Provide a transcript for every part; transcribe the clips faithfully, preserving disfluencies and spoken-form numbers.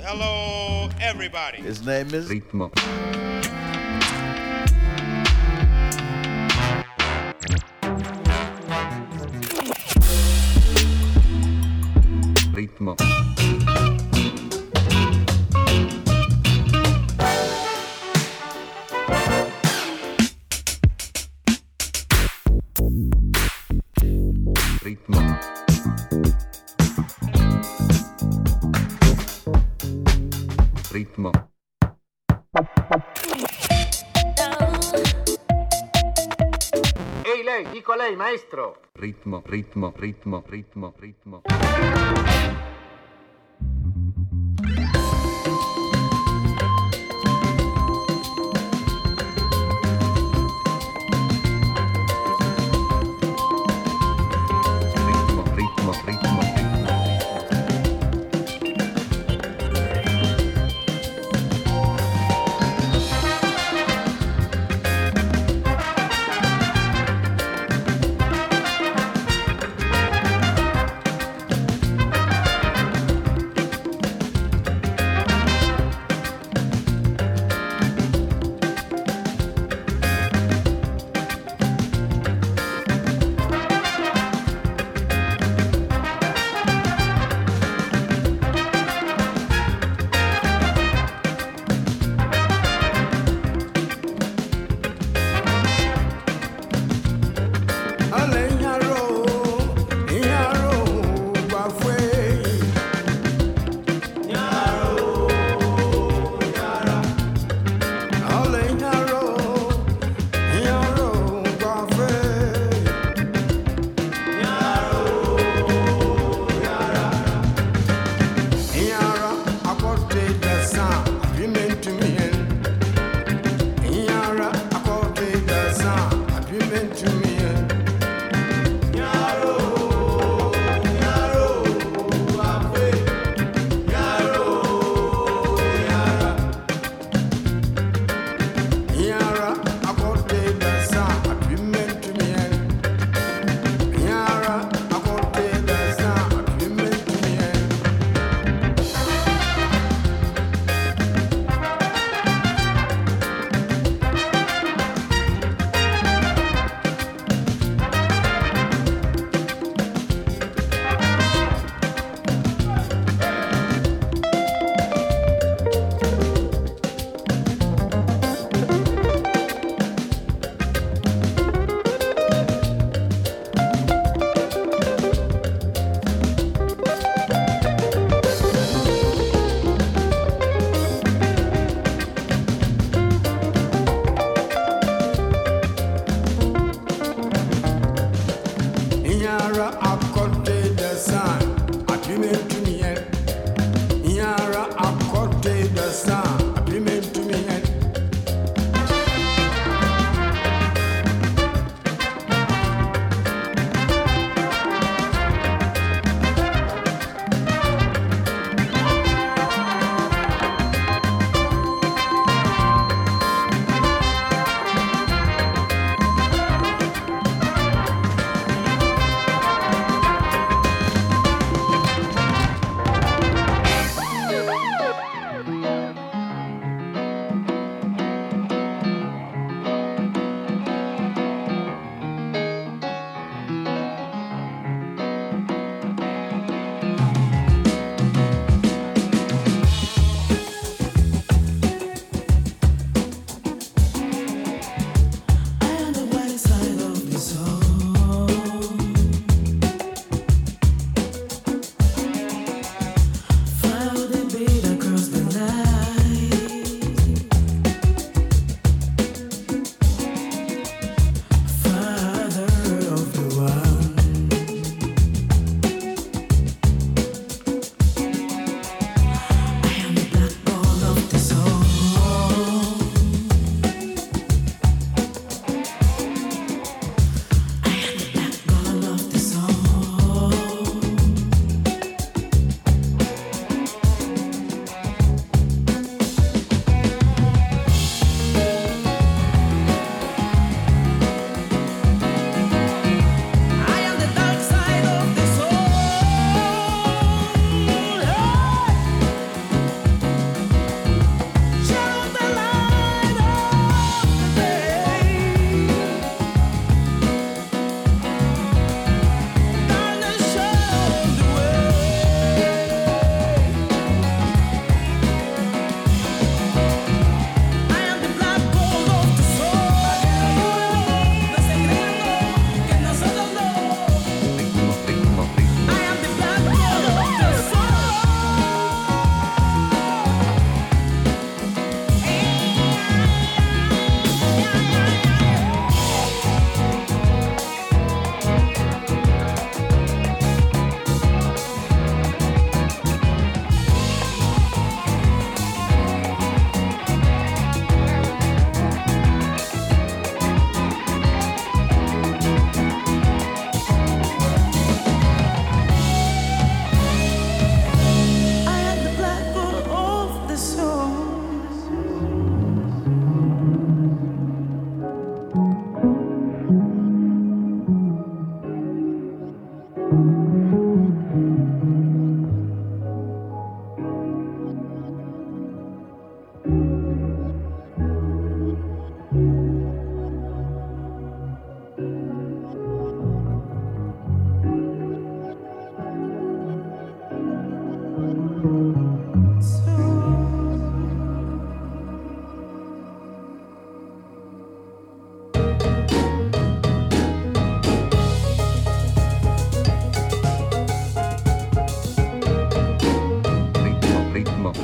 Hello, everybody. His name is Ritmo. Ritmo. Ritmo. Ritmo. Ehi lei, dico a lei, maestro. Ritmo, ritmo, ritmo, ritmo, ritmo. Ritmo, ritmo, ritmo, ritmo.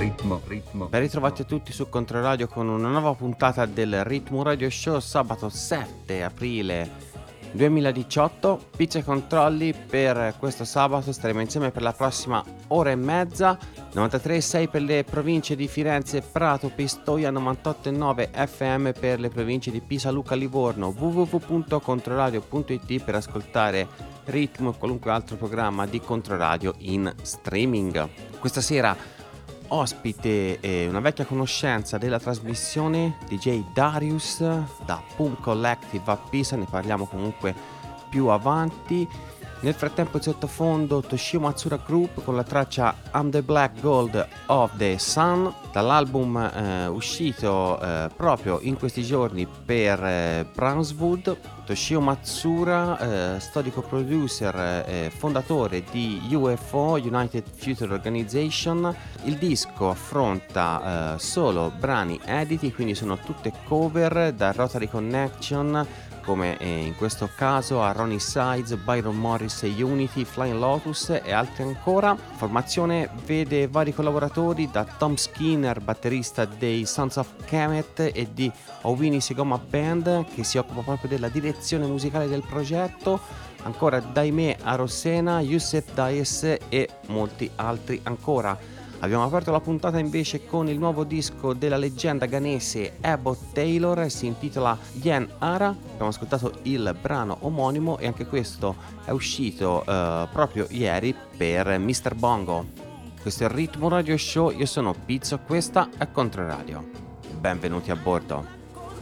ritmo, ritmo. Ben ritrovati a tutti su Controradio con una nuova puntata del Ritmo Radio Show, sabato sette aprile duemiladiciotto. Pizza e controlli per questo sabato, staremo insieme per la prossima ora e mezza. Novantatré virgola sei per le province di Firenze, Prato, Pistoia, novantotto virgola nove F M per le province di Pisa, Lucca, Livorno, w w w punto controradio punto i t per ascoltare Ritmo e qualunque altro programma di Controradio in streaming. Questa sera ospite eh, una vecchia conoscenza della trasmissione, D J Darius da Pum Collective a Pisa, ne parliamo comunque più avanti. Nel frattempo in sottofondo Toshio Matsura Group con la traccia I'm the Black Gold of the Sun, dall'album eh, uscito eh, proprio in questi giorni per eh, Brownswood. Toshio Matsura, eh, storico producer e eh, fondatore di U F O, United Future Organization. Il disco affronta eh, solo brani editi, quindi sono tutte cover da Rotary Connection, come in questo caso a Ronnie Sides, Byron Morris e Unity, Flying Lotus e altri ancora. Formazione vede vari collaboratori, da Tom Skinner, batterista dei Sons of Kemet, e di Owini Segoma Band, che si occupa proprio della direzione musicale del progetto, ancora Daimé Arosena, Youssef Daes e molti altri ancora. Abbiamo aperto la puntata invece con il nuovo disco della leggenda ghanese Abbott Taylor, si intitola Yen Ara. Abbiamo ascoltato il brano omonimo e anche questo è uscito eh, proprio ieri per mister Bongo. Questo è il Ritmo Radio Show, io sono Pizzo, questa è Controradio. Benvenuti a bordo.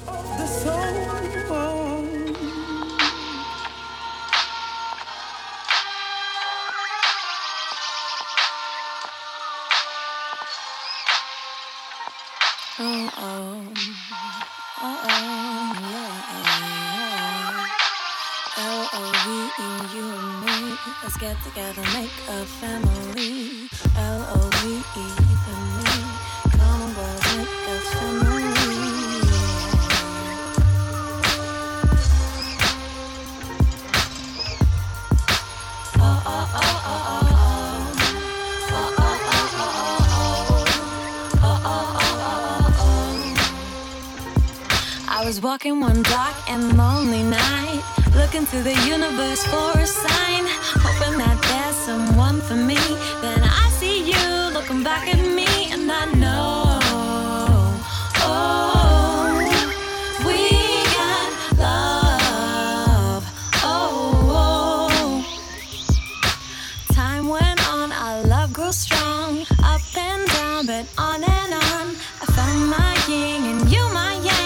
Oh, oh, oh, oh, yeah. L O V E, you and me. Let's get together, make a family. L O V E for me. Come on, boys, make us family. Oh, oh, oh, oh, oh. I was walking one dark and lonely night, looking to the universe for a sign, hoping that there's someone for me. Then I see you looking back at me, and I know, oh, we got love. Oh, oh. Time went on, our love grew strong, up and down, but on and on. I found my yin and you my yang.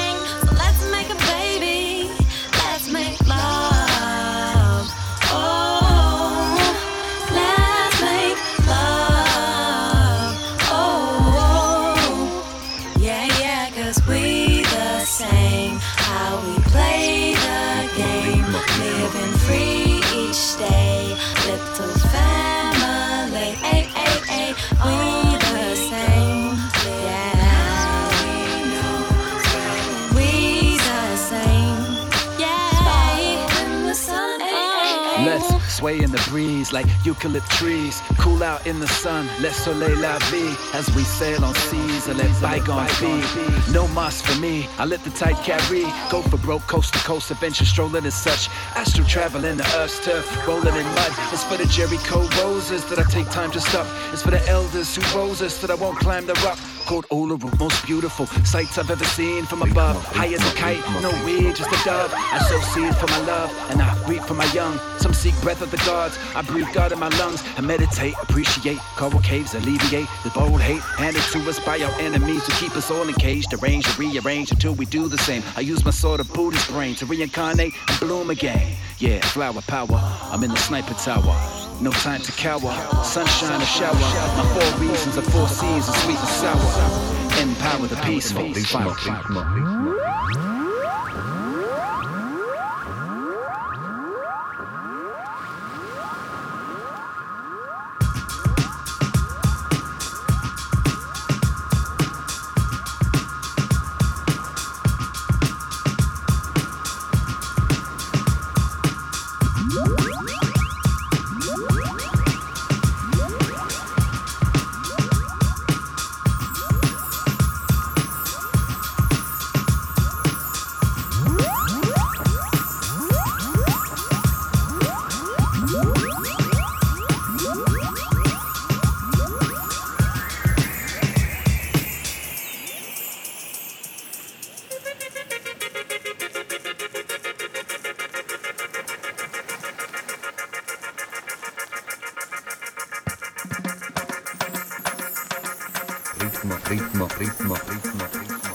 Sway in the breeze like eucalypt trees. Cool out in the sun, let soleil la vie. As we sail on seas and let bygones be. No mas for me, I let the tide carry. Go for broke, coast to coast, adventure strolling and such. Astral travel in the earth's turf, rolling in mud. It's for the Jericho roses that I take time to stop. It's for the elders who rose us that I won't climb the rock. Called Uluru, most beautiful sights I've ever seen from above. High as a kite, no weed, just a dove. I sow seed for my love, and I reap for my young. Some seek breath of the gods, I breathe God in my lungs. I meditate, appreciate, coral caves alleviate the bold hate handed to us by our enemies who keep us all encaged. Arrange and rearrange until we do the same. I use my sort of Buddhist brain to reincarnate and bloom again. Yeah, flower power, I'm in the sniper tower. No time to cower, sunshine or shower. My four reasons are four seasons, sweet and sour. Empower the peaceful. Ritmo, ritmo, ritmo. ritmo, ritmo, ritmo, ritmo, ritmo.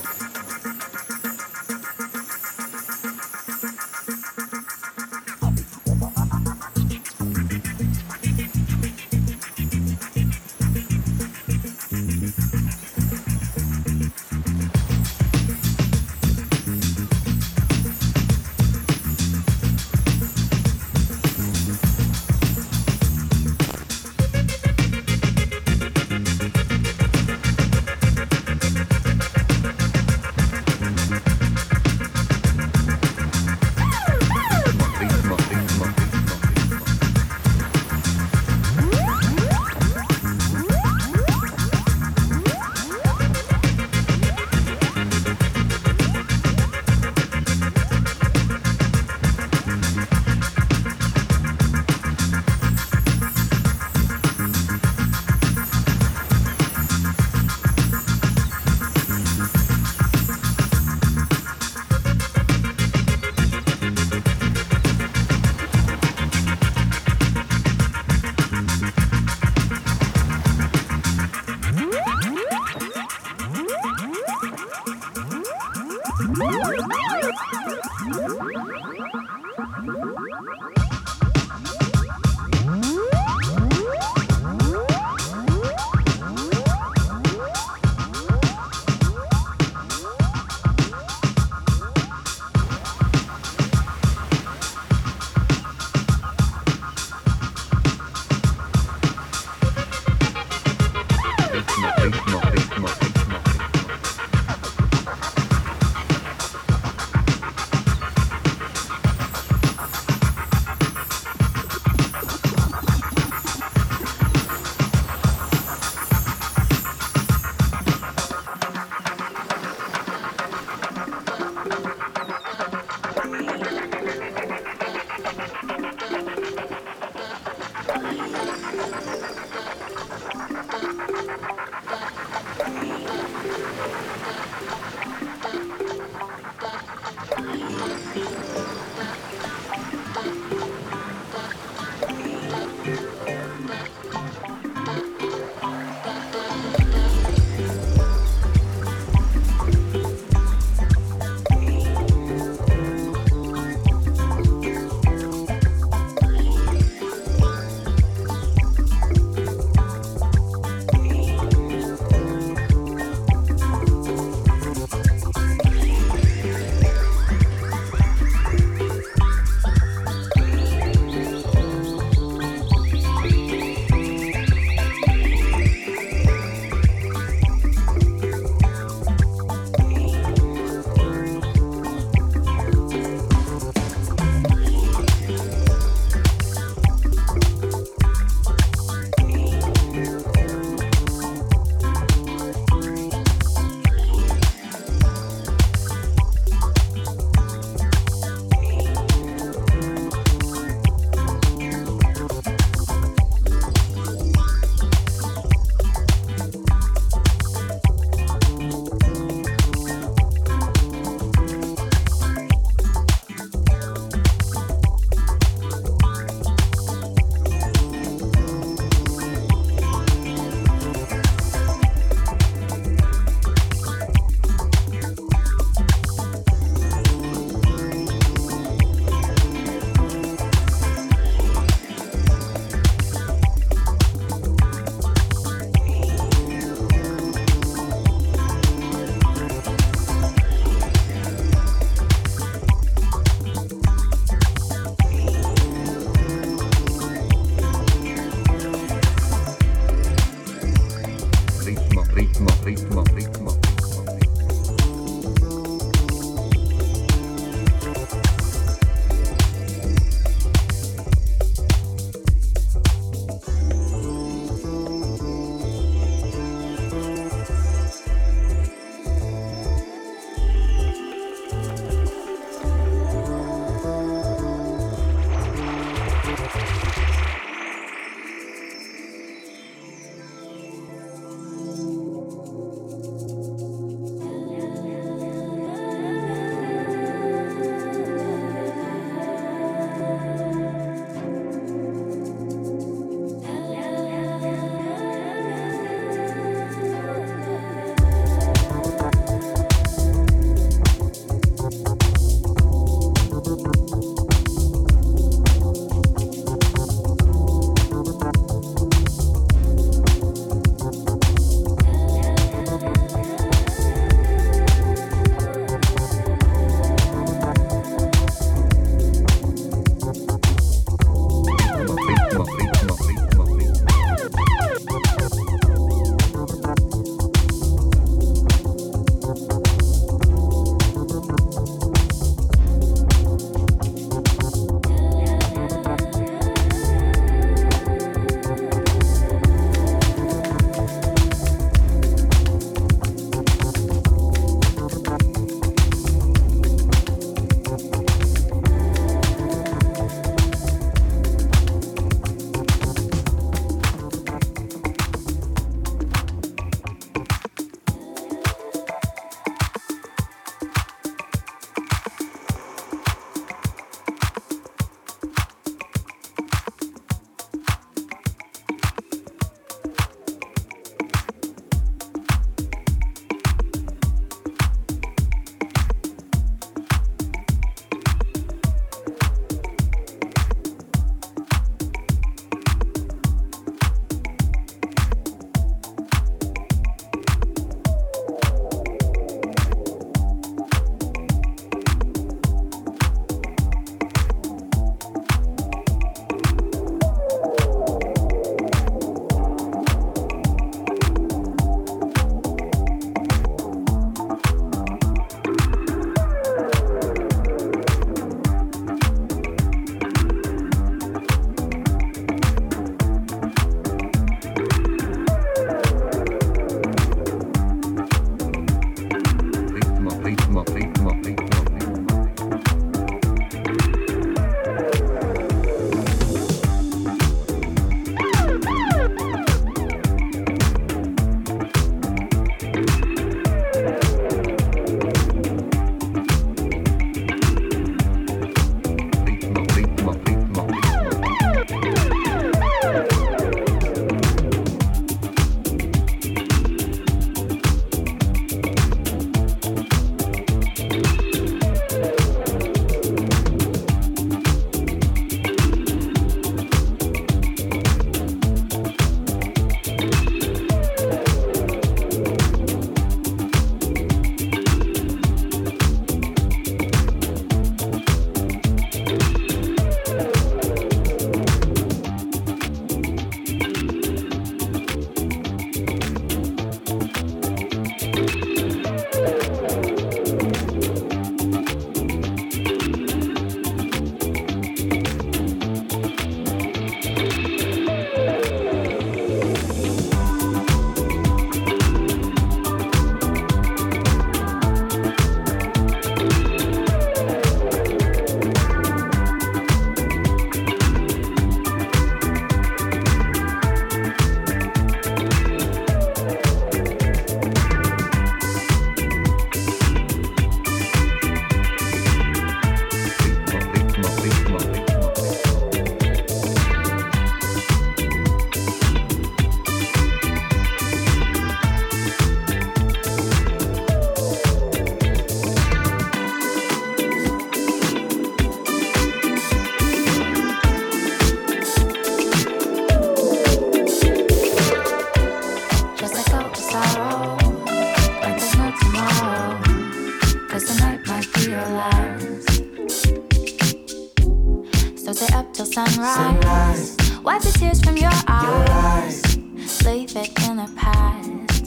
sunrise. Sunrise. Wipe the tears from your eyes. Your eyes. Leave it in the past.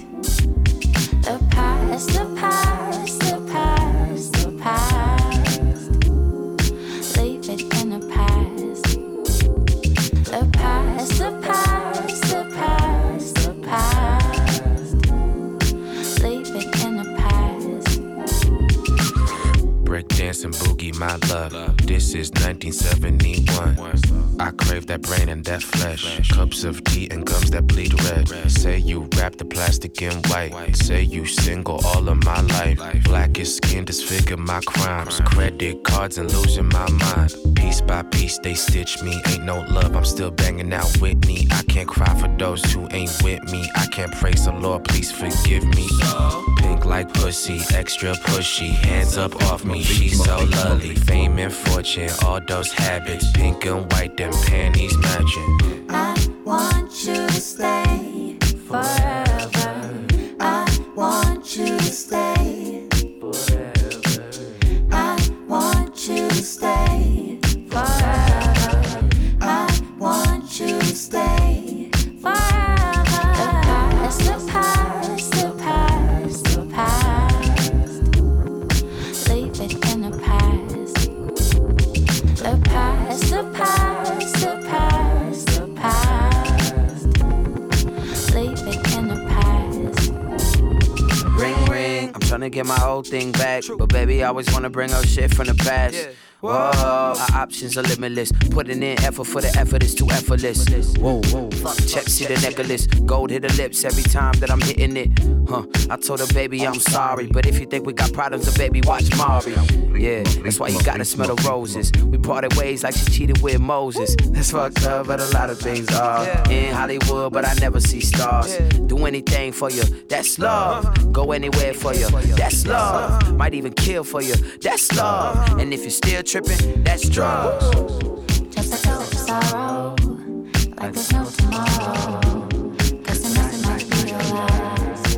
The past, the past, the past, the past. Leave it in the past. The past, the past, the past, the past. Leave it in the past. Breakdance and boogie, my love. This is nineteen seventy-one. I crave that brain and that flesh. Cups of tea and gums that bleed red. Say you wrap the plastic in white. Say you single all of my life. Blackest skin disfigure my crimes. Credit cards and losing my mind. Piece by piece they stitch me. Ain't no love, I'm still banging out Whitney. I can't cry for those who ain't with me. I can't praise the Lord, please forgive me. Pink like pussy, extra pushy. Hands up off me, she's so lovely. Fame and fortune, all those habits. Pink and white, them panties matching. I want you to stay forever. I want you to stay forever. I want you to stay forever. I want you to stay forever. The past, the past, the past, the past. Leave it in the past. The past, the past, the past, the past. Leave it in the past. Ring ring, I'm tryna get my old thing back. But baby, I always wanna bring up shit from the past. Whoa, our options are limitless. Putting in effort for the effort is too effortless. Whoa, whoa, fuck, check, see the necklace. Gold hit the lips every time that I'm hitting it. Huh, I told her, baby, I'm sorry. But if you think we got problems, then baby, watch Mari. Yeah, that's why you gotta smell the roses. We parted ways like she cheated with Moses. That's fucked up, but a lot of things are. In Hollywood, but I never see stars. Do anything for you, that's love. Go anywhere for you, that's love. Might even kill for you, that's love. And if you're still tripping, that's drugs. Just let go of sorrow, like there's no tomorrow. Cause there's nothing like real love.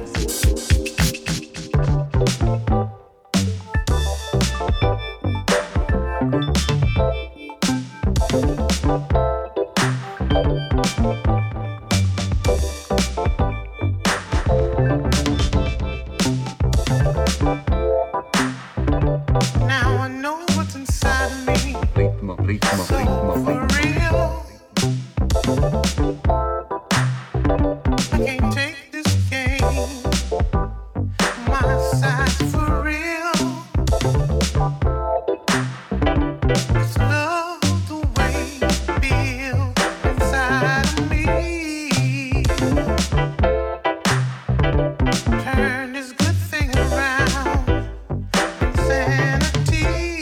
Now I know what's inside of me. Ritmo, ritmo, So ritmo, for ritmo. real, I can't take this game. My side's for real. It's love the way you feel inside of me. Turn this good thing around. Insanity.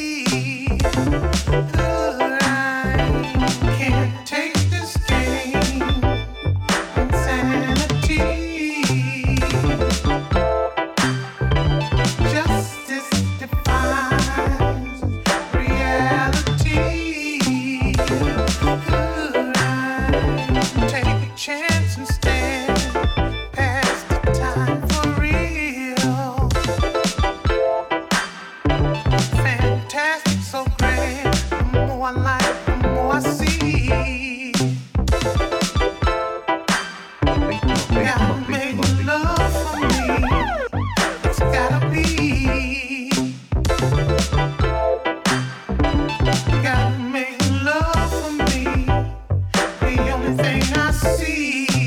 Good, I can't take this game. Insanity. Justice defines reality. Good, I take a chance and stand past the time for real. Fantastic, so grand. The more I like, the more I see. Ritmo, Gotta ritmo, make ritmo, ritmo. love for me. It's gotta be. Gotta make love for me. The only thing I see.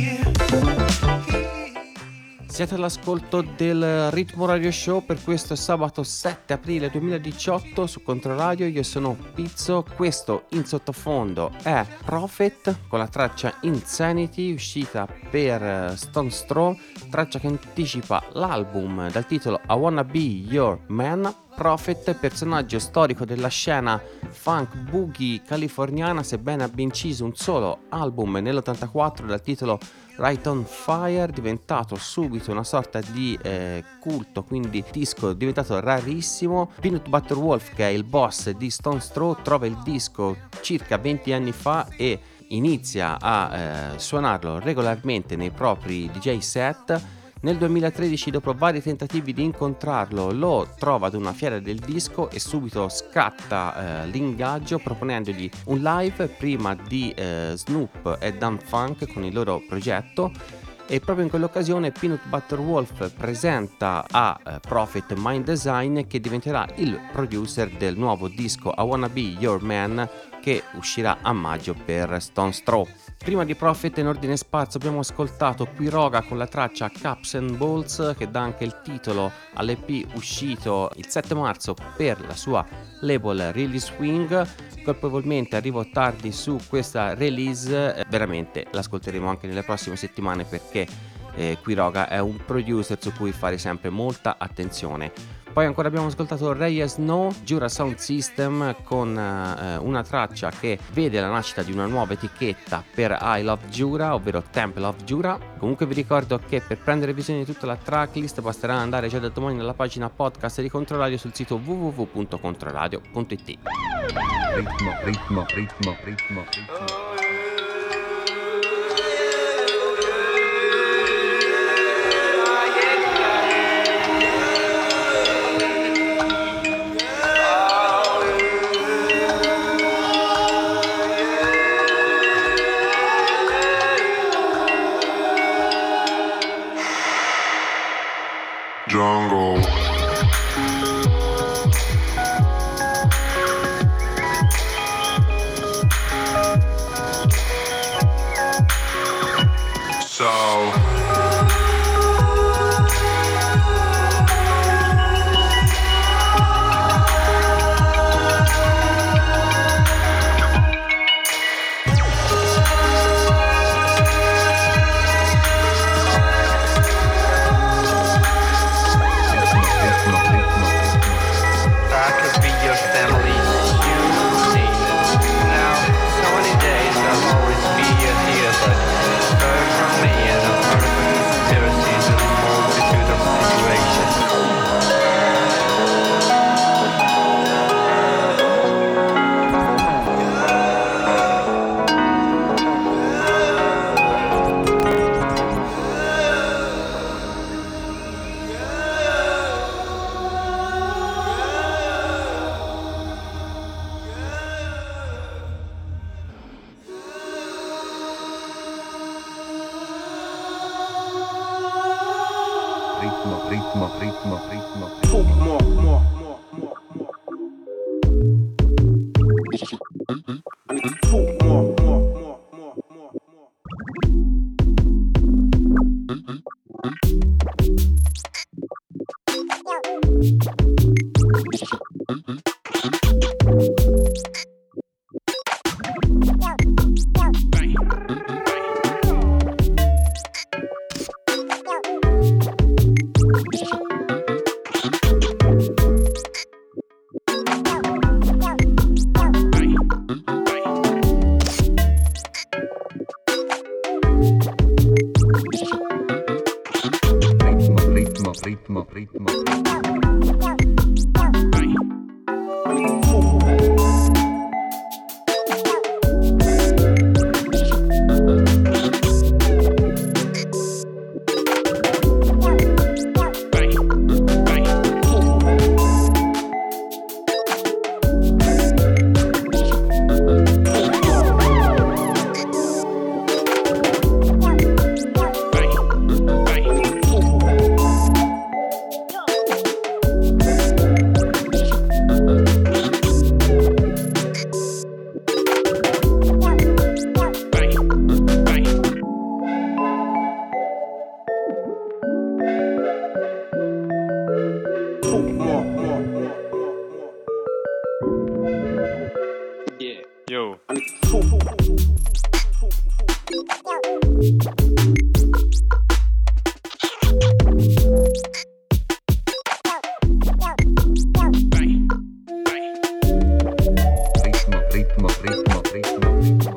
Siete all'ascolto del Ritmo Radio Show per questo sabato sette aprile duemiladiciotto su Controradio. Io sono Pizzo, questo in sottofondo è Prophet con la traccia Insanity uscita per Stones Throw, traccia che anticipa l'album dal titolo I Wanna Be Your Man. Prophet, personaggio storico della scena funk boogie californiana, sebbene abbia inciso un solo album nell'ottantaquattro dal titolo Right on Fire, diventato subito una sorta di eh, culto, quindi disco diventato rarissimo. Peanut Butter Wolf, che è il boss di Stones Throw, trova il disco circa venti anni fa e inizia a eh, suonarlo regolarmente nei propri D J set. Nel duemilatredici, dopo vari tentativi di incontrarlo, lo trova ad una fiera del disco e subito scatta eh, l'ingaggio proponendogli un live prima di eh, Snoop e Daft Punk con il loro progetto. E proprio in quell'occasione Peanut Butter Wolf presenta a uh, Prophet Mind Design, che diventerà il producer del nuovo disco I Wanna Be Your Man, che uscirà a maggio per Stone's Throw. Prima di Prophet, in ordine sparso, abbiamo ascoltato Quiroga con la traccia Cups and Balls, che dà anche il titolo all'E P uscito il sette marzo per la sua label Really Swing. Colpevolmente arrivo tardi su questa release, eh, veramente l'ascolteremo anche nelle prossime settimane, perché eh, Quiroga è un producer su cui fare sempre molta attenzione. Poi ancora abbiamo ascoltato Ray Snow, Jura Sound System, con eh, una traccia che vede la nascita di una nuova etichetta per I Love Jura, ovvero Temple of Jura. Comunque vi ricordo che per prendere visione di tutta la tracklist basterà andare già da domani nella pagina podcast di Controradio sul sito w w w punto controradio punto i t. Ritmo, ritmo, ritmo, ritmo, ritmo. Jungle. So ritmo, ritmo, ritmo, ritmo, ritmo. Ritmo, ritmo, ritmo. Yo. Ritmo, ritmo, ritmo, ritmo, ritmo.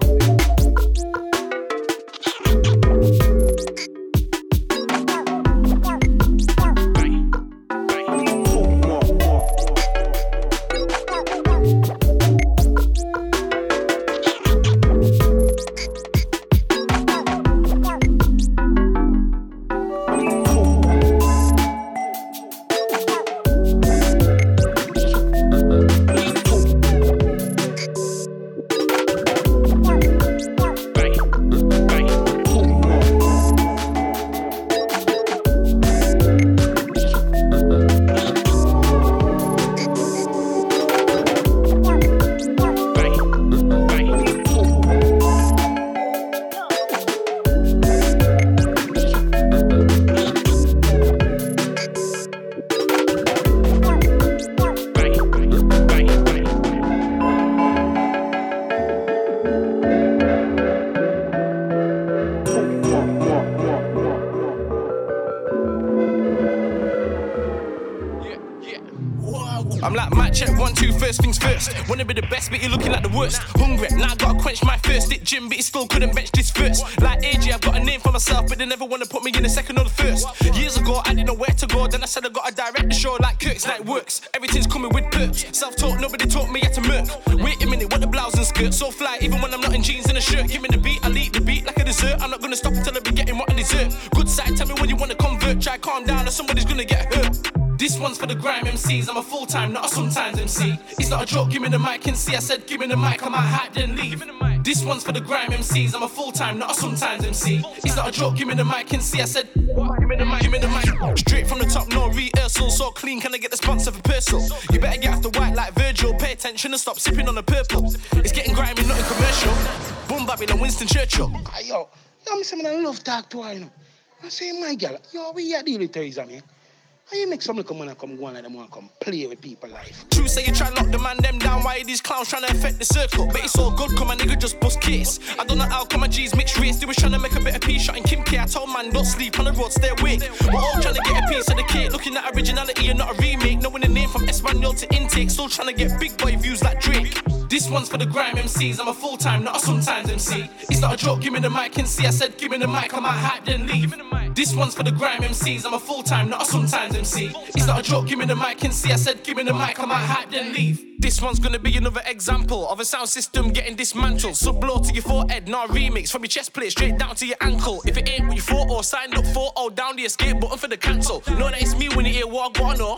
I'm like, mic check, one, two, first things first. Wanna be the best, but you're looking like the worst. Hungry, now I gotta quench my thirst. Hit gym, but he still couldn't bench this first. Like A J, I've got a name for myself, but they never wanna put me in the second or the first. Years ago, I didn't know where to go. Then I said I gotta direct the show like Kirk's night works. Everything's coming with perks. Self-taught, nobody taught me how to murk. Wait a minute, what the blouse and skirt? So fly, even when I'm not in jeans and a shirt. Give me the beat, I'll eat the beat like a dessert. I'm not gonna stop until I be getting what I deserve. Good side, tell me when you wanna convert. Try calm down or somebody's gonna get hurt. This one's for the grime M Cs. I'm a full-time, not a sometimes M C. It's not a joke, give me the mic and see. I said give me the mic, I might hype then leave. This one's for the grime M Cs. I'm a full-time, not a sometimes M C. It's not a joke, give me the mic and see. I said give me the mic, give me the mic. Straight from the top, no rehearsal. So clean, can I get the sponsor for Persil? You better get off the white like Virgil. Pay attention and stop sipping on the purple. It's getting grimy, nothing commercial. Boom Babylon, Winston Churchill. Yo, I'm saying I love talk to her, you know. I say, my girl, yo, we are dealing with Teresa, man. How you make some little man come go on like them want come play with people life? True say you try lock the man them down. Why are these clowns trying to affect the circle? But it's all good, come my nigga just bust case. I don't know how come my G's mixed race. They was trying to make a bit of peace, shot in Kim K. I told man don't sleep on the road, stay awake. We're all trying to get a piece of the cake. Looking at originality and not a remake. Knowing the name from Espanol to intake. Still trying to get big boy views like Drake. This one's for the grime M Cs. I'm a full-time, not a sometimes M C. It's not a joke, give me the mic and see. I said give me the mic, I might hype then leave. This one's for the grime M Cs. I'm a full-time, not a sometimes M C. It's not a joke, give me the mic and see. I said give me the mic, I might hype then leave. This one's gonna be another example of a sound system getting dismantled. Sub blow to your forehead, not a remix. From your chest plate straight down to your ankle. If it ain't what you thought or signed up for, oh down the escape button for the cancel. Know that it's me when you hear what I know.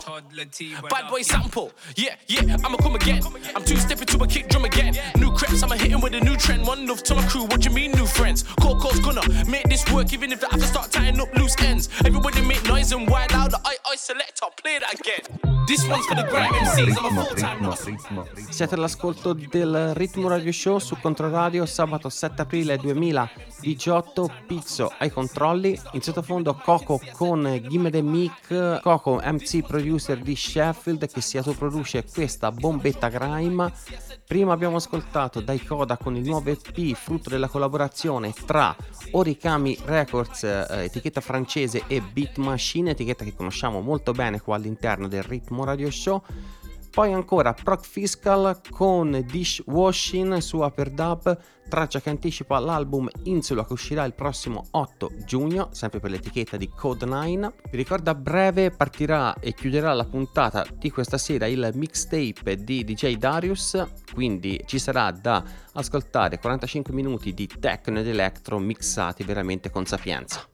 Bad boy sample. Yeah, yeah, I'ma come again. I'm two stepping to a kick drum again. New creps, I'ma hit him with a new trend. One love to my crew, what you mean new friends? Coco's gonna make this work even if I have to start tying up loose ends. Everybody make noise and wild out. I, I select, I'll play that again. This one's for the grime M Cs. I'm a full-time, not a Siete all'ascolto del Ritmo Radio Show su Controradio, sabato sette aprile duemiladiciotto. Pizzo ai controlli, in sottofondo Coco con Gimme the Mic. Coco, M C producer di Sheffield, che si autoproduce questa bombetta grime. Prima abbiamo ascoltato Dai Coda con il nuovo E P, frutto della collaborazione tra Origami Records, eh, etichetta francese, e Beat Machine, etichetta che conosciamo molto bene qua all'interno del Ritmo Radio Show. Poi ancora Proc Fiscal con Dishwashing su Uperdub, traccia che anticipa l'album Insula che uscirà il prossimo otto giugno, sempre per l'etichetta di Code nine. Vi ricordo a breve partirà e chiuderà la puntata di questa sera il mixtape di D J Darius, quindi ci sarà da ascoltare quarantacinque minuti di techno ed electro mixati veramente con sapienza.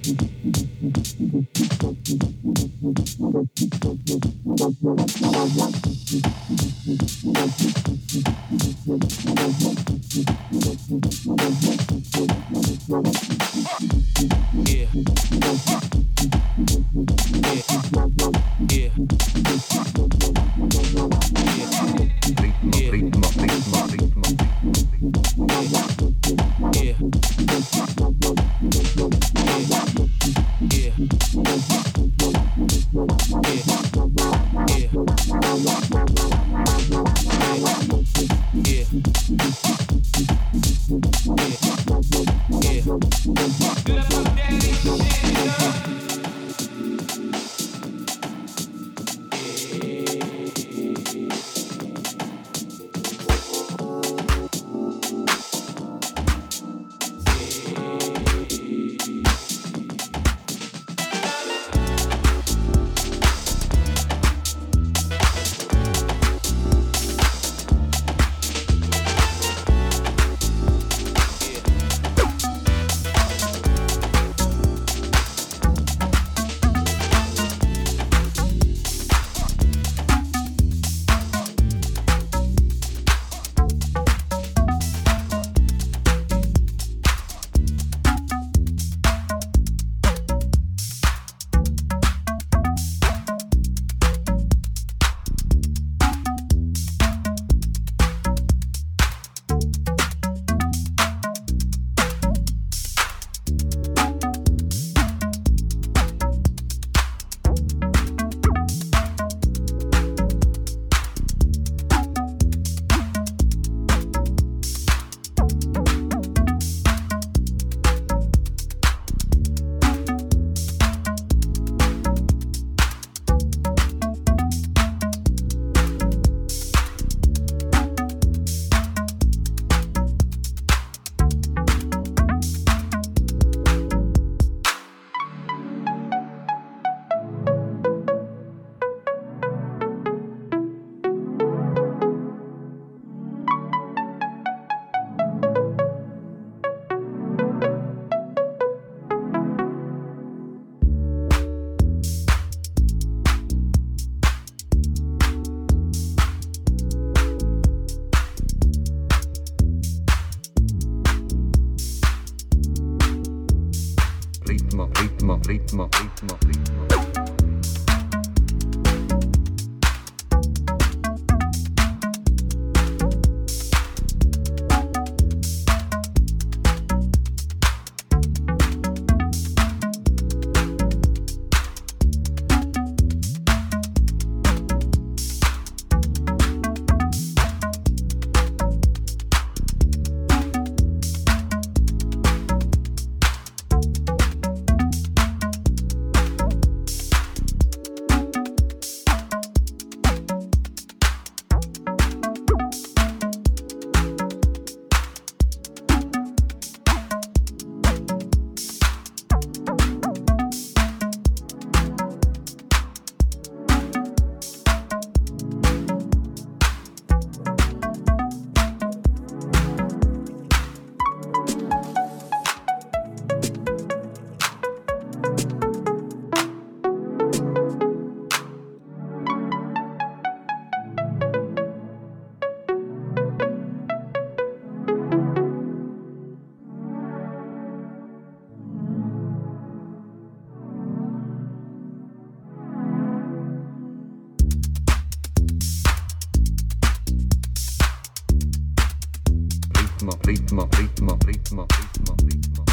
ritmo, ritmo, ritmo. Ritmo, ritmo, ritmo, ritmo, ritmo.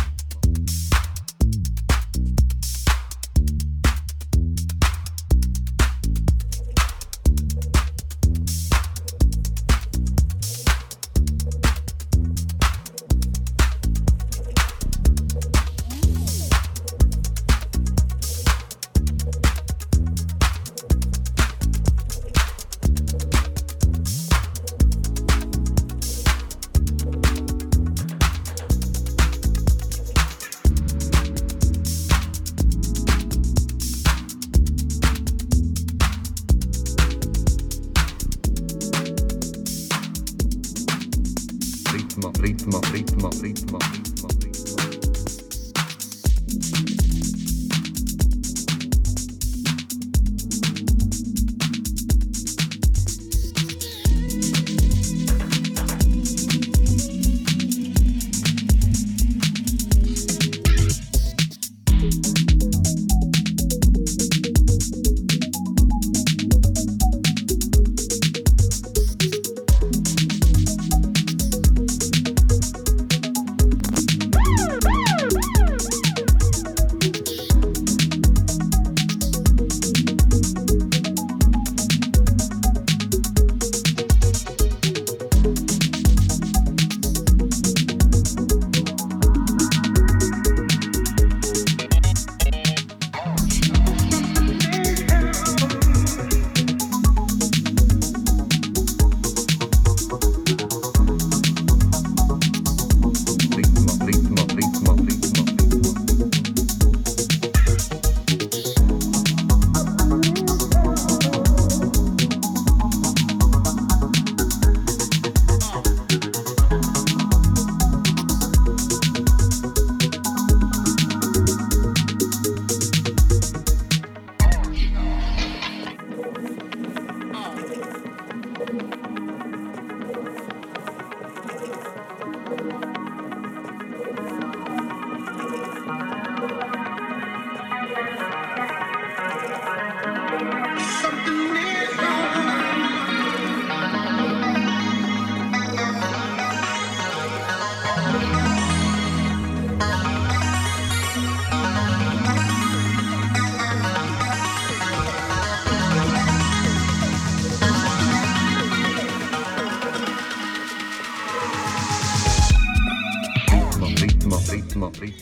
Ritmo, ritmo, ritmo, ritmo, ritmo, ritmo.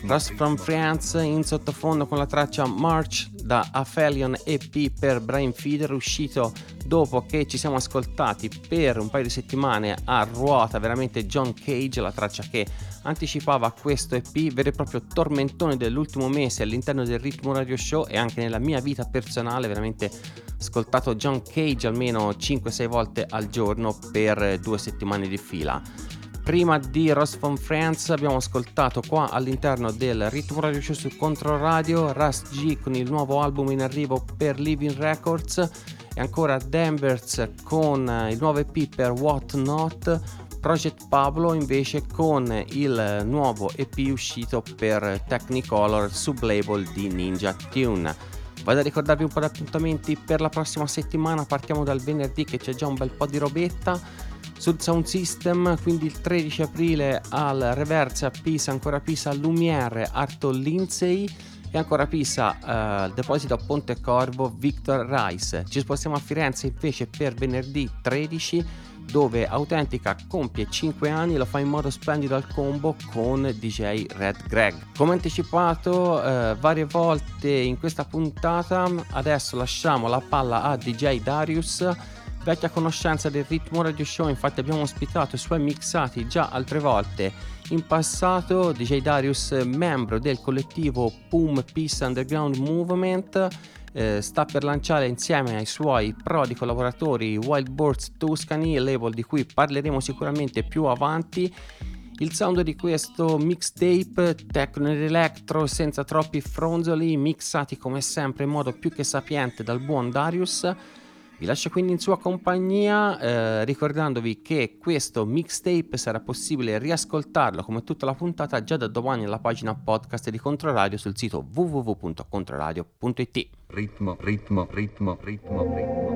Ross from France in sottofondo con la traccia March da Aphelion E P per Brian Feeder, uscito dopo che ci siamo ascoltati per un paio di settimane a ruota veramente John Cage, la traccia che anticipava questo E P, vero e proprio tormentone dell'ultimo mese all'interno del Ritmo Radio Show, e anche nella mia vita personale veramente ascoltato John Cage almeno cinque sei volte al giorno per due settimane di fila. Prima di Ross from France abbiamo ascoltato qua all'interno del Ritmo Radio Show su Controradio Russ G con il nuovo album in arrivo per Living Records, e ancora Danvers con il nuovo E P per What Not, Project Pablo invece con il nuovo E P uscito per Technicolor, sublabel di Ninja Tune. Vado a ricordarvi un po' di appuntamenti per la prossima settimana. Partiamo dal venerdì, che c'è già un bel po' di robetta sul Sound System, quindi il tredici aprile al Reverse a Pisa, ancora Pisa Lumiere, Arto Lindsay, e ancora Pisa uh, Deposito Ponte Corvo, Victor Rice. Ci spostiamo a Firenze invece per venerdì tredici, dove Autentica compie cinque anni, lo fa in modo splendido al combo con D J Red Greg. Come anticipato eh, varie volte in questa puntata, adesso lasciamo la palla a D J Darius, vecchia conoscenza del Ritmo Radio Show, infatti abbiamo ospitato i suoi mixati già altre volte in passato. D J Darius, membro del collettivo P U M Peace Underground Movement, Eh, sta per lanciare insieme ai suoi prodi collaboratori Wild Boars Tuscany, label di cui parleremo sicuramente più avanti. Il sound di questo mixtape, techno ed electro senza troppi fronzoli, mixati come sempre in modo più che sapiente dal buon Darius. Vi lascio quindi in sua compagnia, eh, ricordandovi che questo mixtape sarà possibile riascoltarlo come tutta la puntata già da domani alla pagina podcast di Controradio sul sito w w w punto controradio punto i t. Ritmo, ritmo, ritmo, ritmo, ritmo.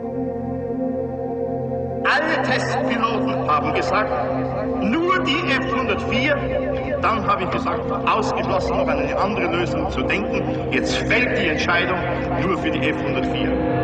Alle Testpiloten haben gesagt, nur die F hundertvier. Dann habe ich gesagt, ausgeschlossen noch an eine andere Lösung zu denken. Jetzt fällt die Entscheidung nur für die F hundertvier.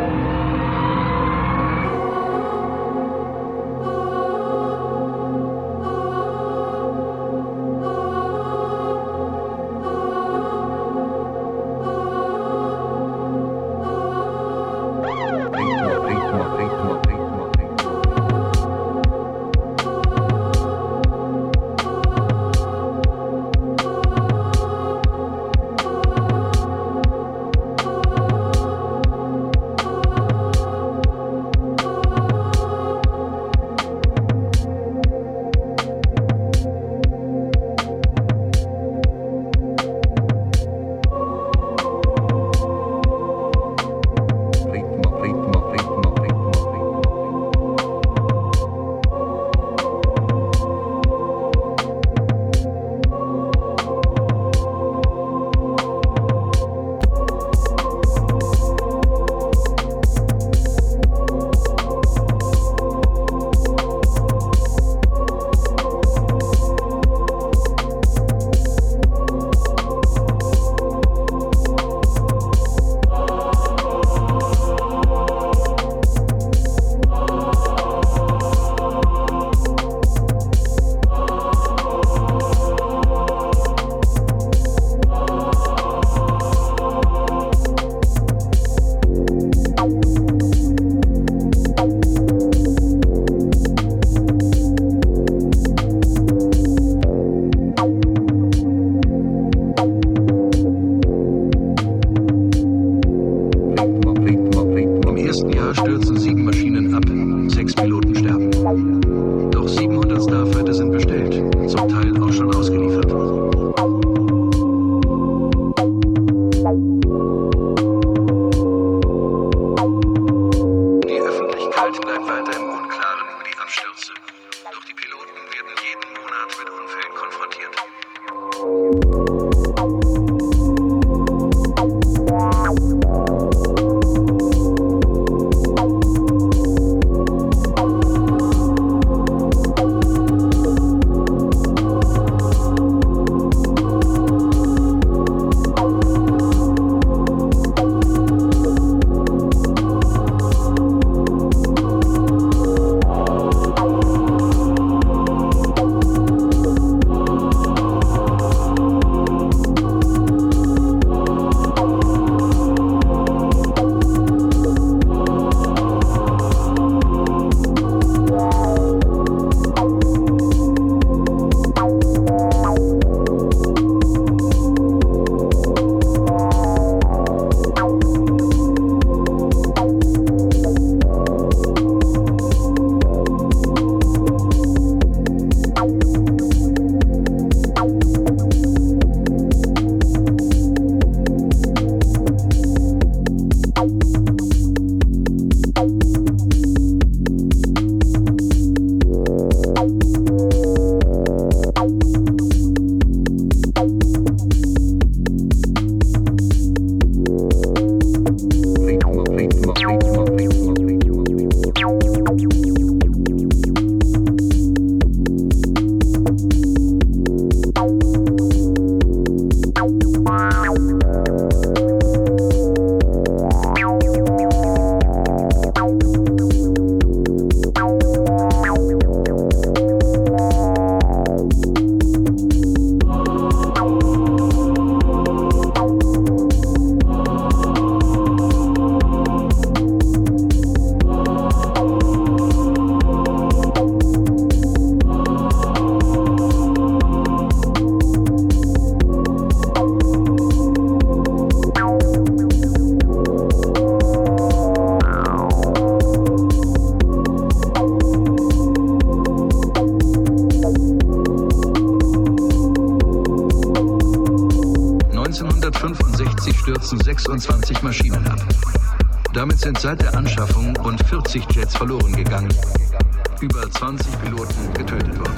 sechsundzwanzig Maschinen ab. Damit sind seit der Anschaffung rund vierzig Jets verloren gegangen, über zwanzig Piloten getötet worden.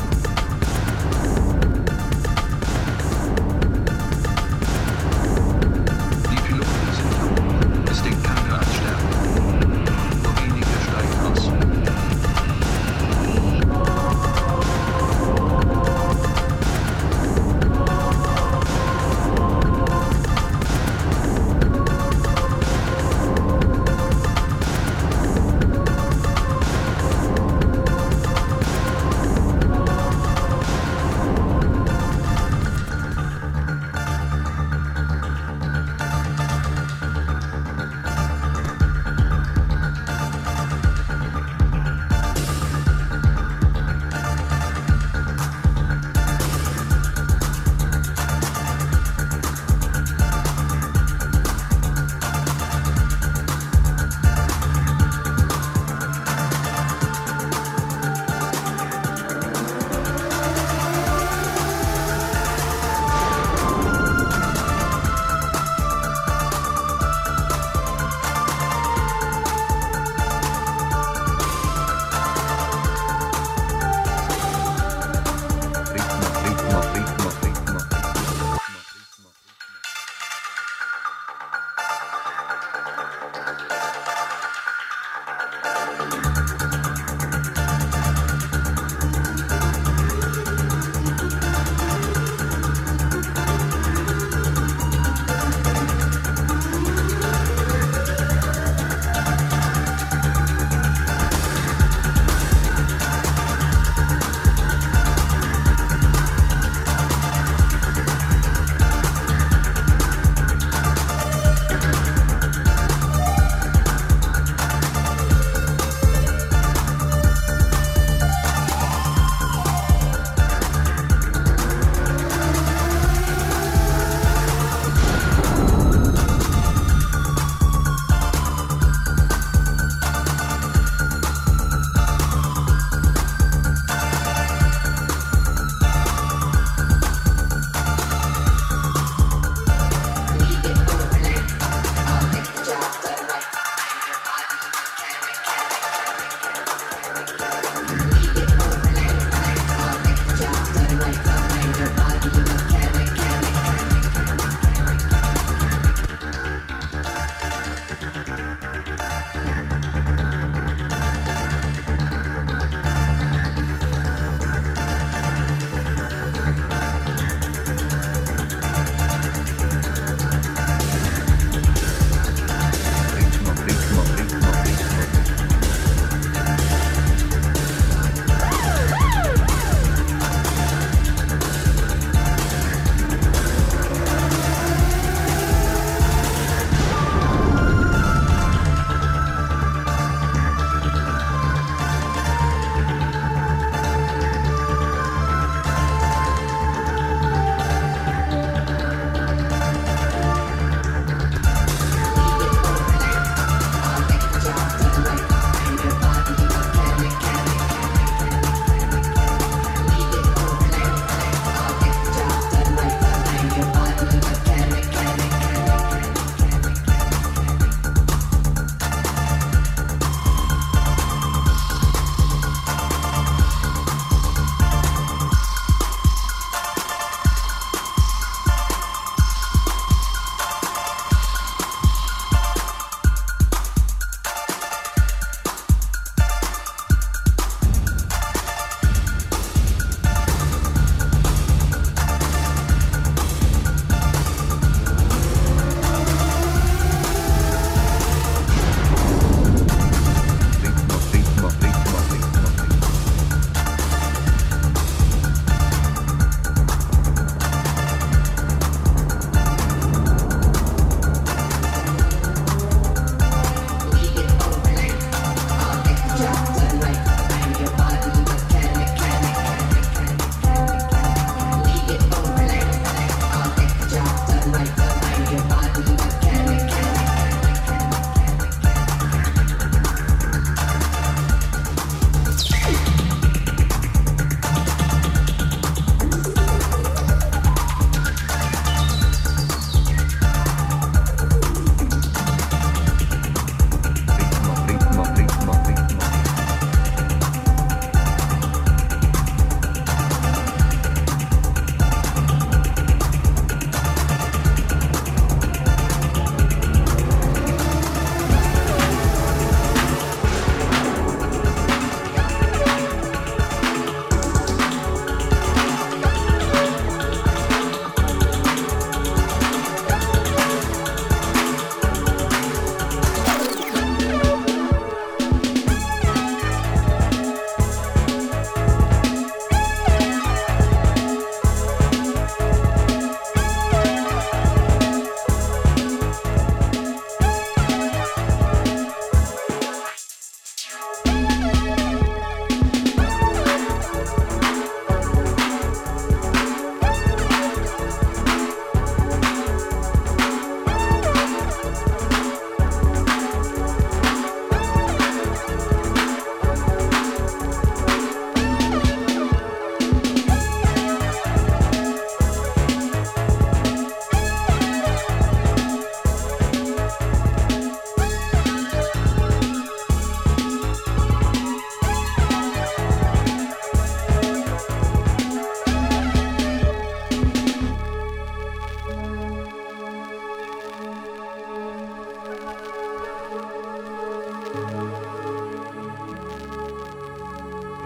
Die Piloten sind jung, es denkt keiner an Sterben. Nur wenige steigen aus.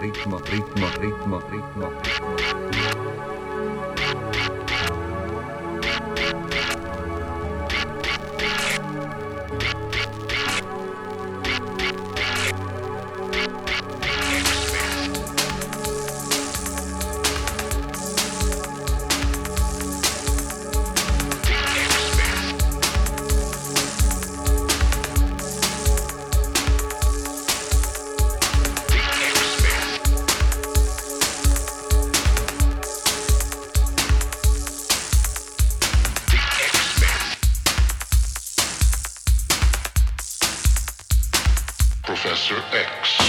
ritmo, ritmo, ritmo, ritmo, ritmo. Professor X.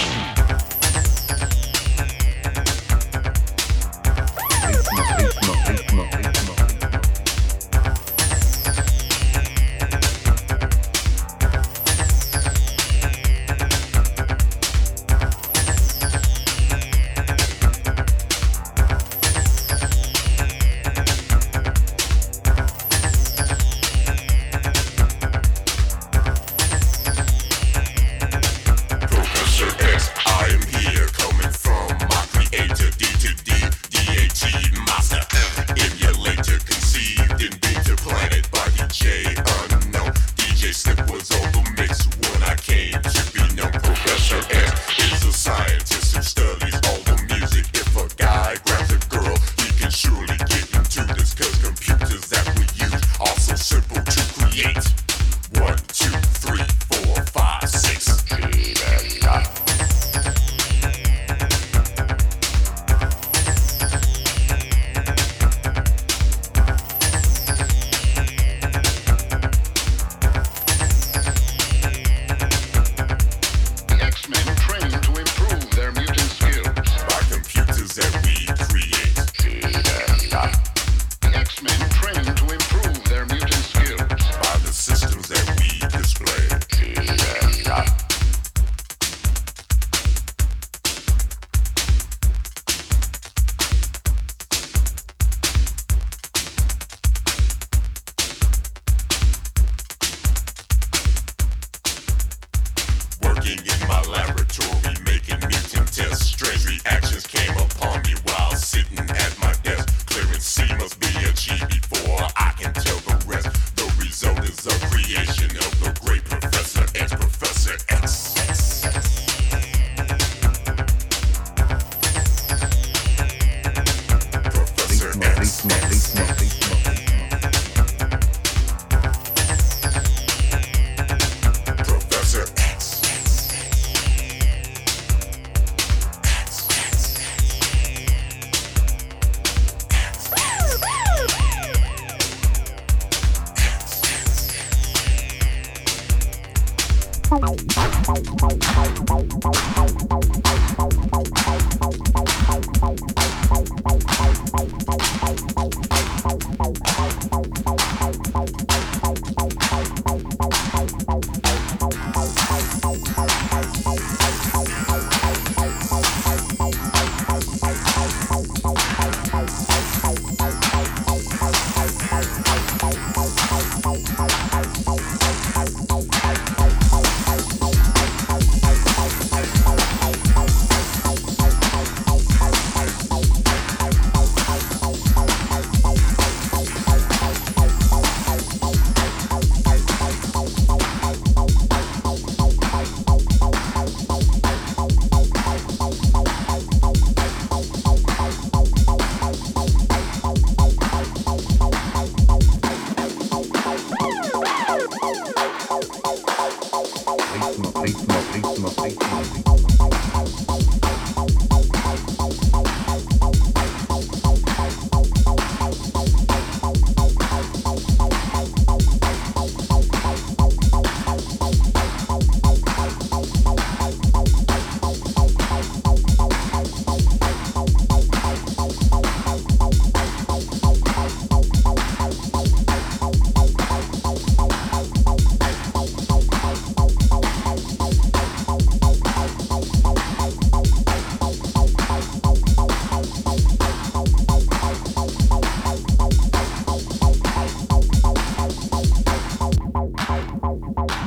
Ritmo, ritmo, ritmo, ritmo.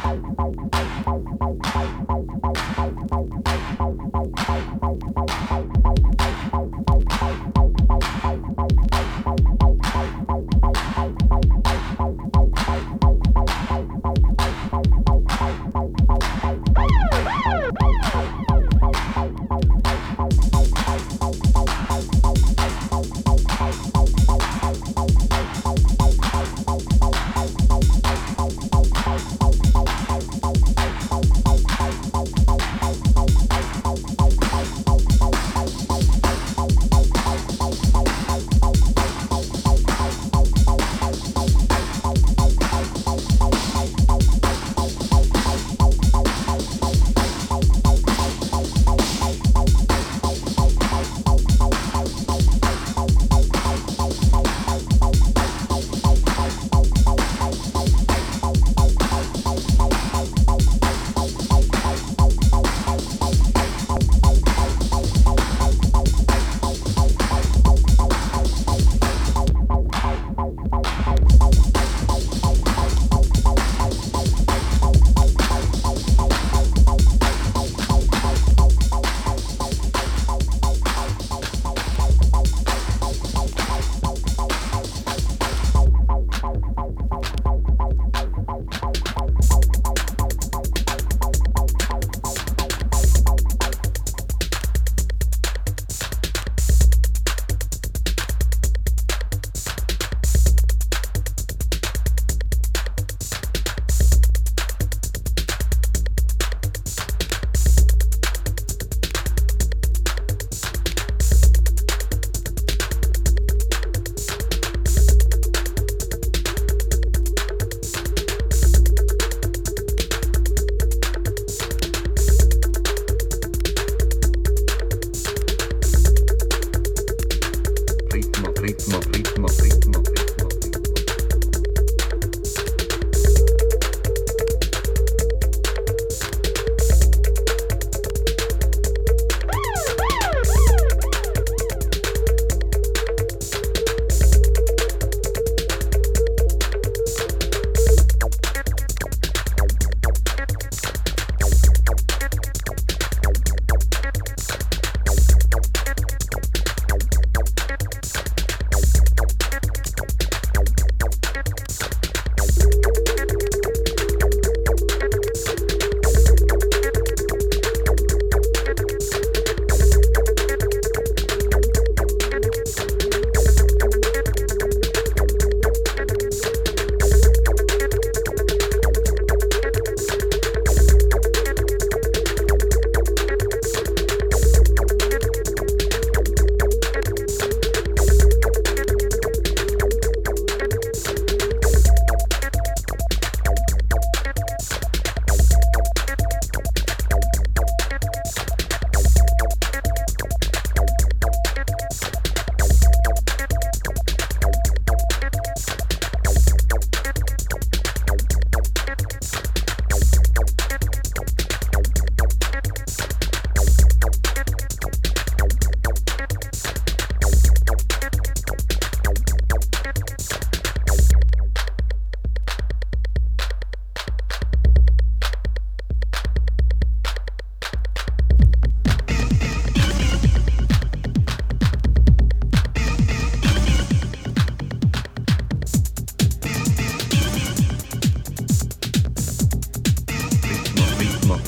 Bye.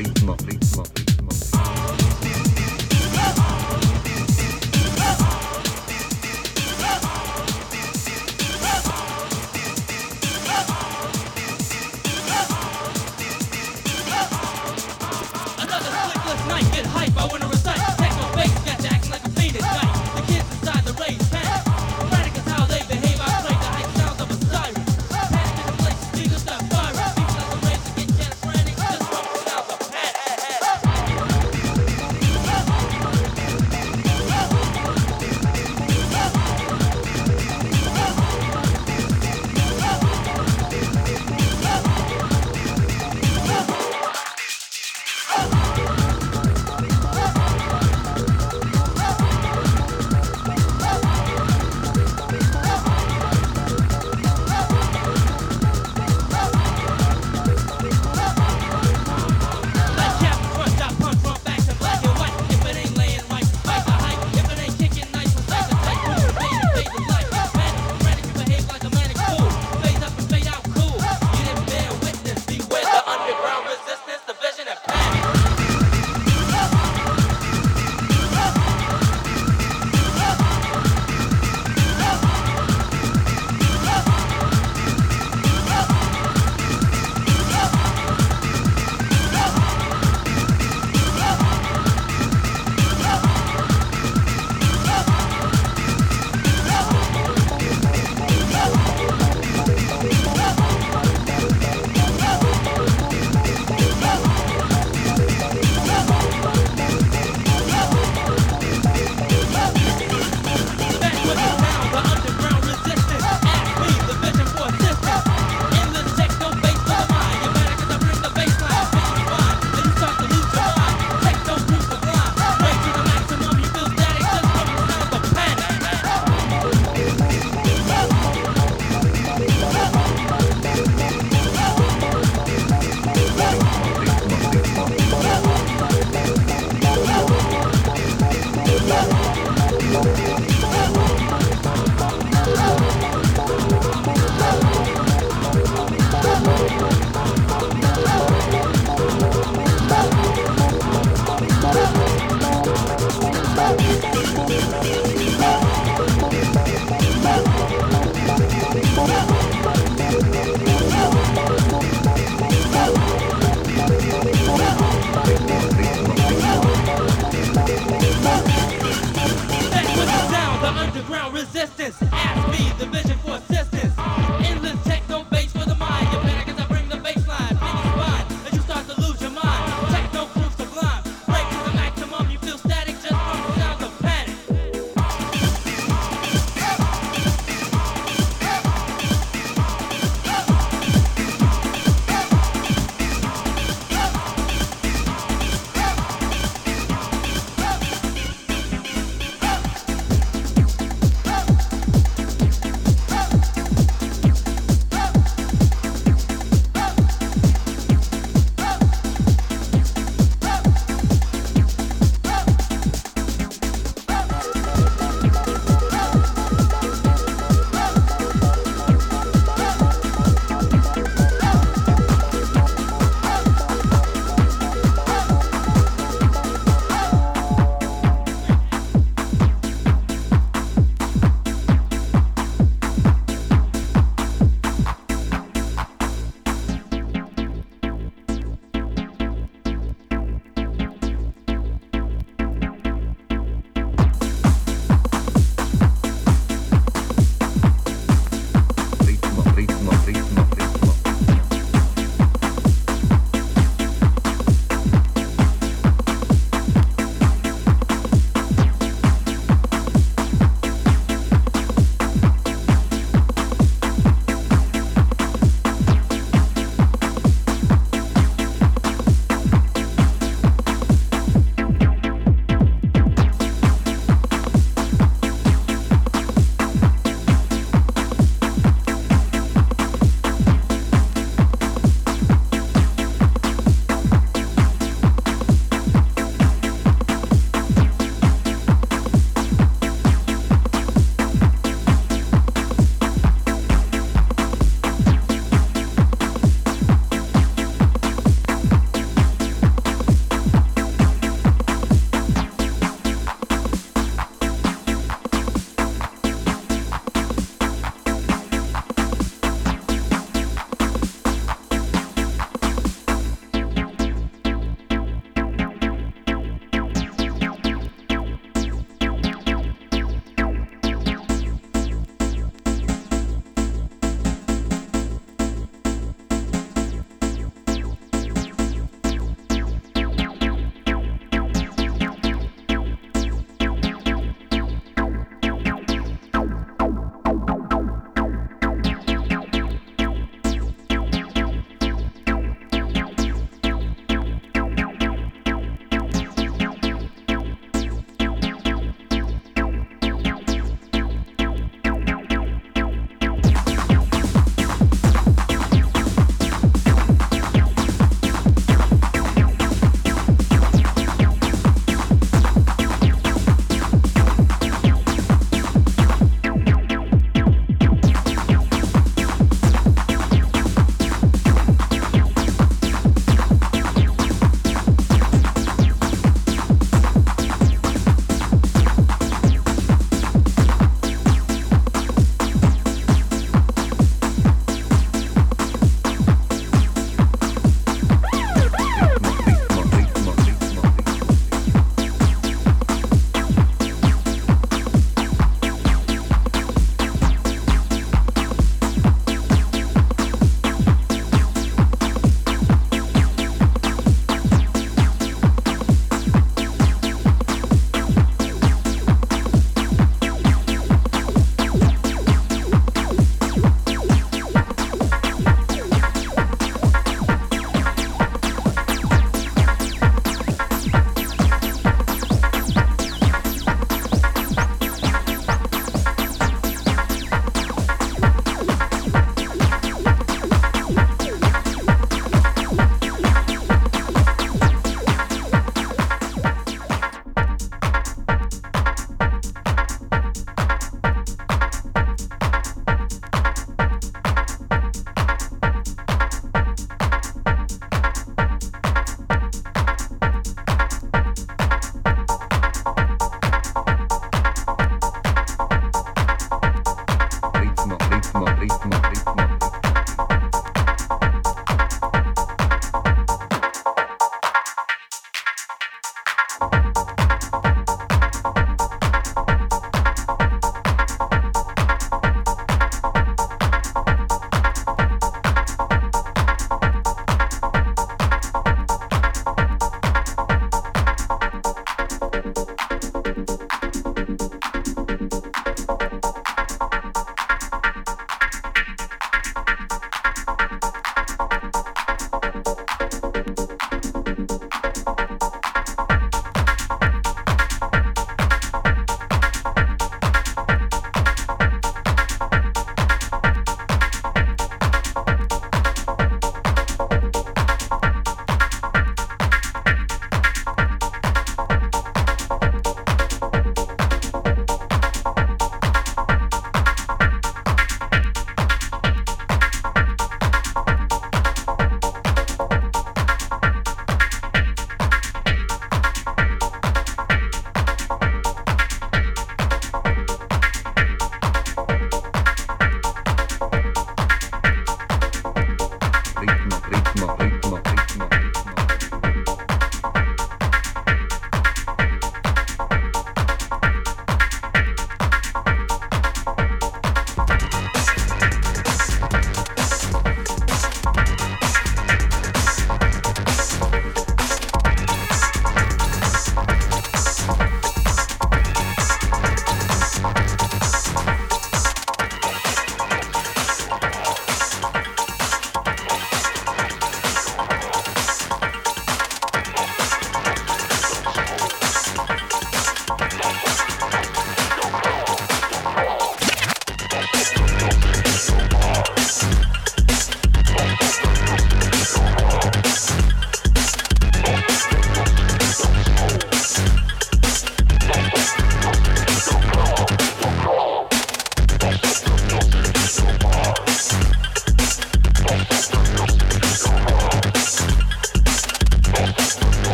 ritmo, ritmo, ritmo. Get hype, I wanna recite. Techno bass got to act like a fiend at night. The kids inside the rage panic. Frantic is how they behave. I play the hype sounds of a siren. Panic in the place, niggas start firing. People like the rains that get schizophrenic. Just from the sounds of panic.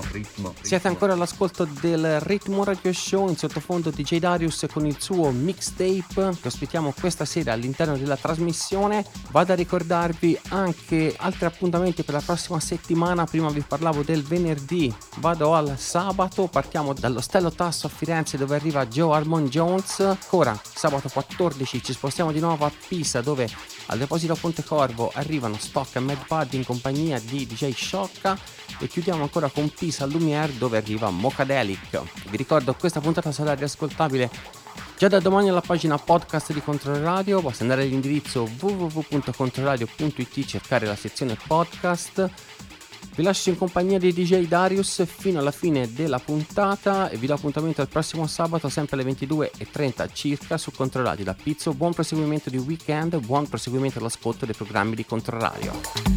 ritmo, ritmo. Siete ancora all'ascolto del Ritmo Radio Show, in sottofondo D J Darius con il suo mixtape che ospitiamo questa sera all'interno della trasmissione. Vado a ricordarvi anche altri appuntamenti per la prossima settimana. Prima vi parlavo del venerdì, vado al sabato, partiamo dall'Ostello Tasso a Firenze dove arriva Joe Harmon Jones. Ancora sabato quattordici ci spostiamo di nuovo a Pisa dove al deposito Pontecorvo arrivano Stock e Mad Bud in compagnia di D J Sciocca e chiudiamo ancora con Pisa Lumiere dove arriva Mocadelic. Vi ricordo questa puntata sarà riascoltabile già da domani alla pagina podcast di Controradio. Basta andare all'indirizzo w w w punto controradio punto i t, cercare la sezione podcast. Vi lascio in compagnia di D J Darius fino alla fine della puntata e vi do appuntamento al prossimo sabato sempre alle ventidue e trenta circa su Controradio da Pizzo. Buon proseguimento di weekend, buon proseguimento all'ascolto dei programmi di Controradio.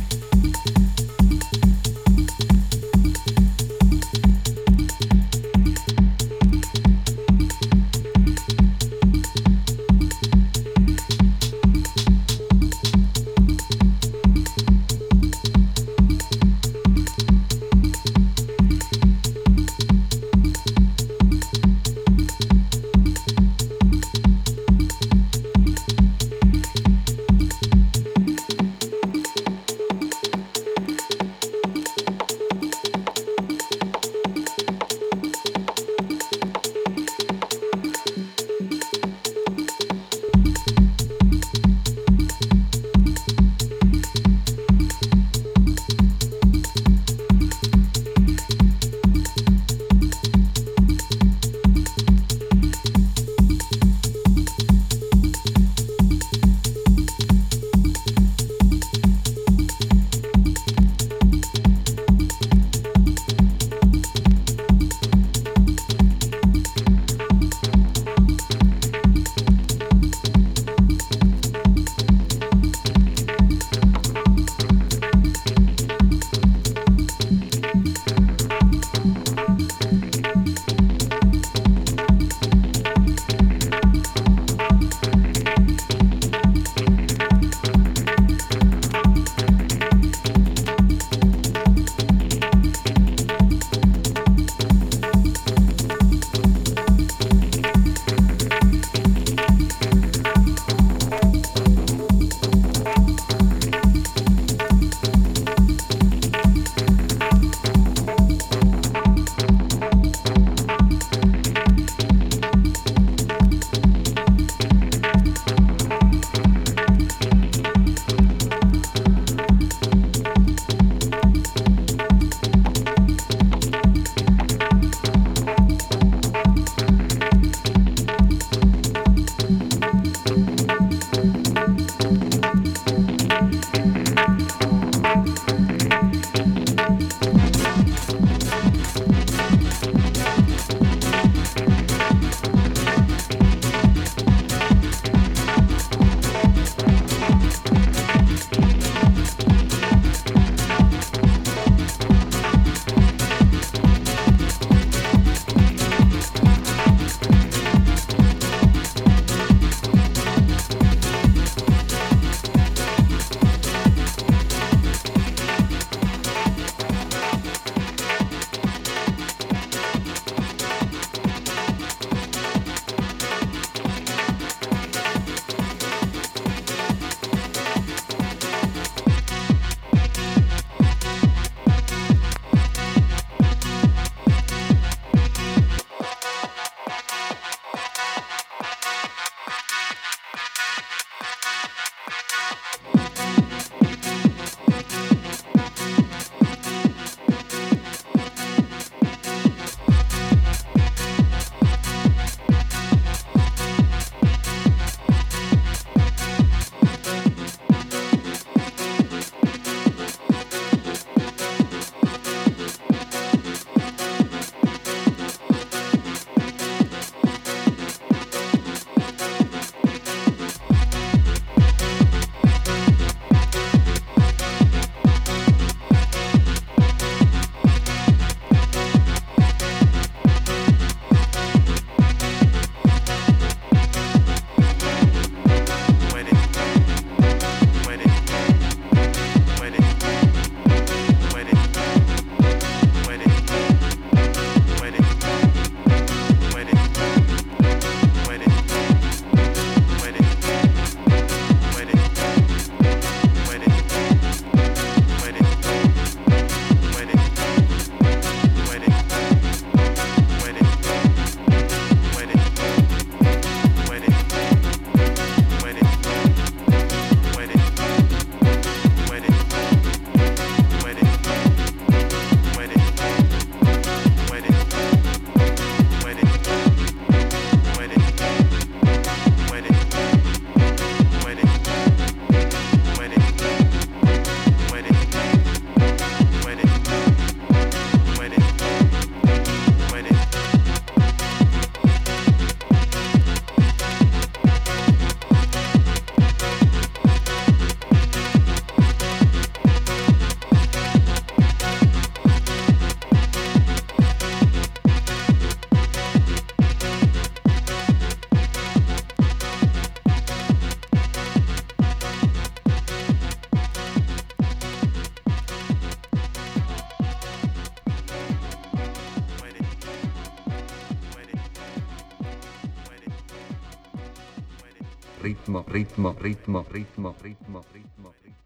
ritmo, ritmo, ritmo, ritmo, ritmo, ritmo, ritmo.